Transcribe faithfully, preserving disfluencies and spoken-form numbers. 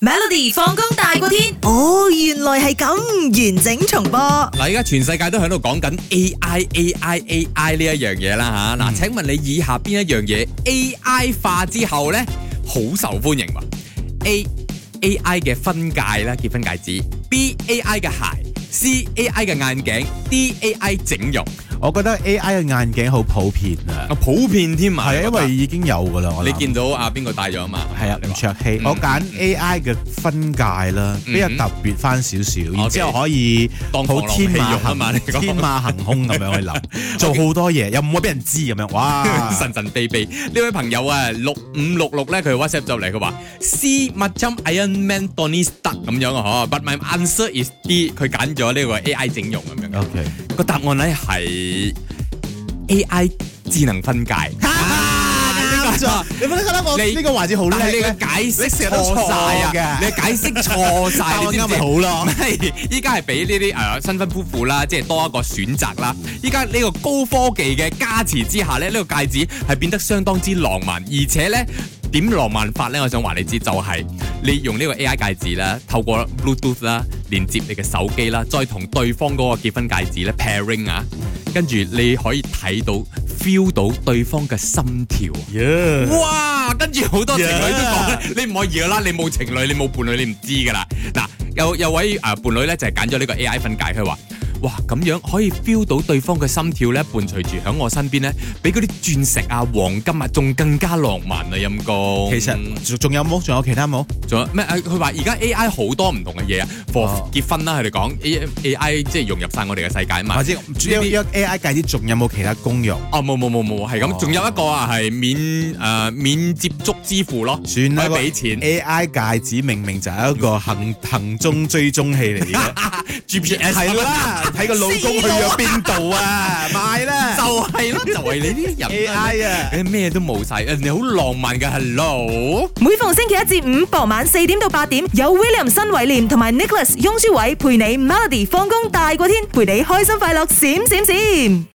Melody 放工大過天， 哦，原來係咁，完整重播。 嗱，而家全世界都喺度講緊 A I、A I、A I 呢一樣嘢啦吓。嗱、嗯，請問你以下邊一樣嘢 A I 化之後咧，好受歡迎喎 ？A A I 嘅婚戒啦，結婚戒指；B A I 嘅鞋；C A I 嘅眼鏡；D A I 整容。 我覺得 A I 嘅眼鏡好普遍啊， 啊普遍添啊， 係啊，因為已經有噶啦。 你見到啊邊個戴咗啊嘛？ 係啊，吳卓羲。我揀 A I 嘅婚戒啦，比較特別翻少少，然之後可以好天馬行天馬行空咁樣去諗，做好多嘢，又唔會俾人知咁樣。哇， 神神秘秘呢位朋友啊，六五六六咧，佢 WhatsApp 就嚟，佢話 C macam Iron Man Tony Stark 咁樣啊，嗬。But my answer is D， 佢揀咗呢個 A I 整容咁樣。 OK， 個答案咧係 A I 智能婚戒。 啱咗，你覺得我呢個環節好叻？ 你嘅解釋錯晒啊！你解釋錯晒，你知唔知？ 好咯， 係依家係俾呢啲誒新婚夫婦啦，即係多一個選擇啦。依家呢個高科技嘅加持之下咧，呢、呢個戒指係變得相當之浪漫，而且咧點浪漫法咧？我想話你知，就係、是、你用呢個 A I 戒指啦，透過 Bluetooth 啦連接你嘅手機啦，再同對方嗰個結婚戒指咧 pairing 啊，跟住你可以睇到 feel 到對方嘅心跳。 Yeah. 哇！跟住好多情侶都講咧， Yeah. 你唔可以噶啦，你冇情侶，你冇伴侶，你唔知噶啦。嗱，有有位誒、呃、伴侶咧就係揀咗呢個 A I 婚戒，佢話：哇，咁樣可以 feel 到對方嘅心跳咧，伴隨住喺我身邊咧，比嗰啲鑽石啊、黃金啊，仲更加浪漫啊！陰公。 其實仲有冇？仲有其他冇？ 仲有咩？佢話而家 A I 好多唔同嘅嘢啊 ，for、oh. 結婚啦，佢哋講 A A I 即係融入晒我哋嘅世界啊嘛。或者主要呢 A I 戒指仲有冇其他功用？ 哦，冇冇冇冇，係咁，仲、oh. 有一個啊，係免誒、呃、免接觸支付咯， 算啦， 俾錢。 A I 戒指明明就係一個行行蹤追蹤器嚟嘅，G P S 係啦，睇個老公去咗邊度啊，買啦， 就係啦，就係你呢啲人 A I 啊， 你咩都冇晒，人哋好浪漫嘅 Hello。 每逢星期一至五傍晚四點到八點，有 William 新偉廉同埋 Nicholas 雍舒偉陪你 Melody 放工大過天，陪你開心快樂閃閃閃。